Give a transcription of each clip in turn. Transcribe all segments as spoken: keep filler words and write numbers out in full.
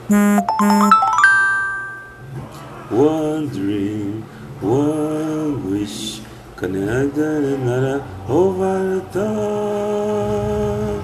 One dream, one wish, connected another over the top.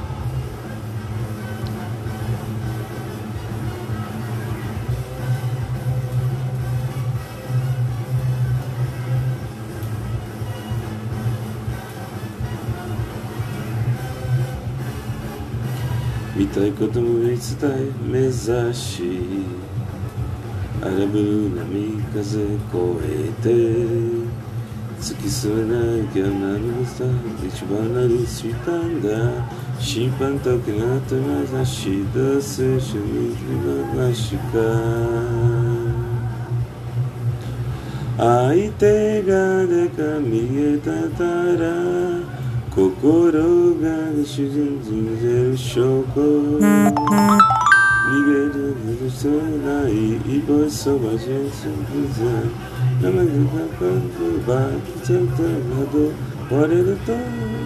見たいことも言い伝え目指し荒ぶる波風越えて突き進めなきゃ何もさ一番なるしたんだ審判とけなって目指し出すしみなしか相手がでか見えたら心が沈んでる証拠逃げる許せない一歩そばじんすぐぜ生がかかるバックチェックなど割れると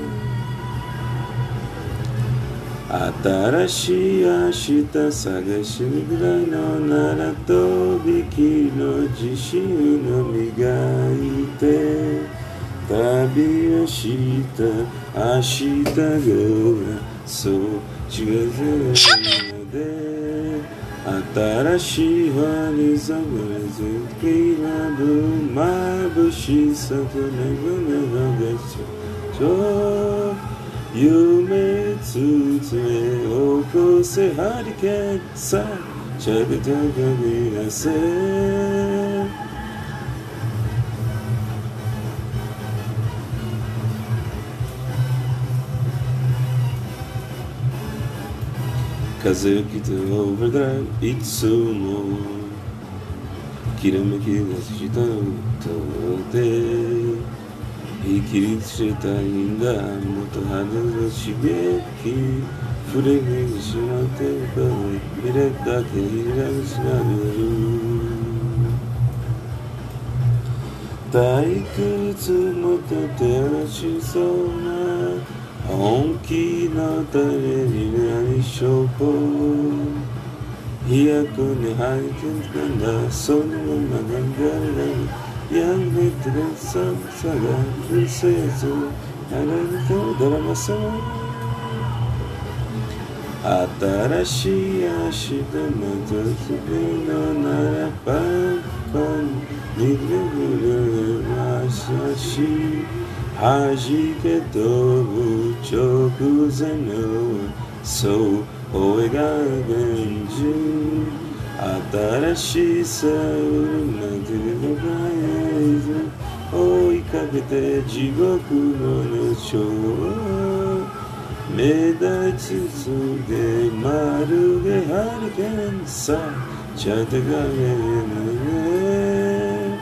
新しい明日探しぐらいのならとびきの自信を磨いて旅をした明日がそう近づくので新しい輪に染まれずきなぶ眩しさと願いがそう夢つつめ起こせハリケーンさしゃべた限らせ風を切ってオーバードライいつもきらめきがした音で生きりしたいんだもっと肌の刺激触れにしまって見れだけ開きしながら退屈もとてらしそうな本気の誰にない証拠飛躍に入ってんだそのまま流れやめてる寒さがうせずあられとドラマさ新しい明日またすぐのならパンパンにぐるまさし弾け飛ぶ直前のそう声が現実新しさを待てるのがえず追いかけて地獄の熱唱目立ちつつでまるでハリケーンさちゃてがね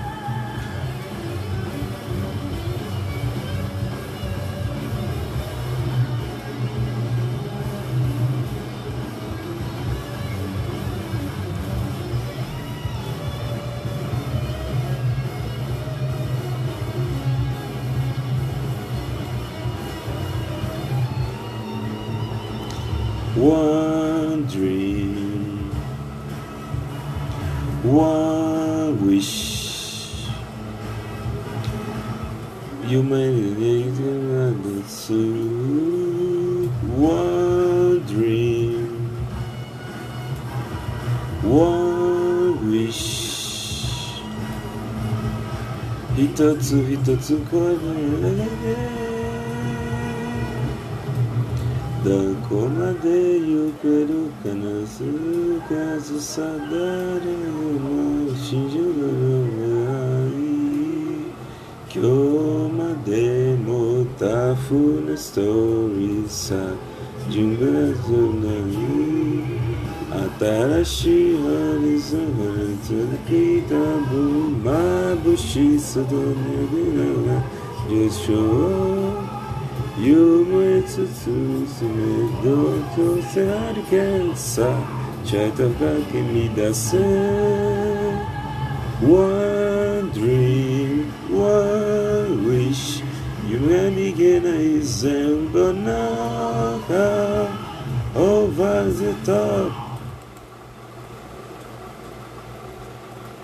One dream, one wish. You made it another two. One dream, one wish. 一つ一つこれ。どこまで行けるかな数々さ誰も信じるのない今日までもタフなストーリーさ順番ずない新しいハリゾン続きたぶ眩しさと巡るが受賞夢つつめどうとせハリケーンさちゃとかけ乱せ One dream, one wish 夢が逃げない全部の中 Over the top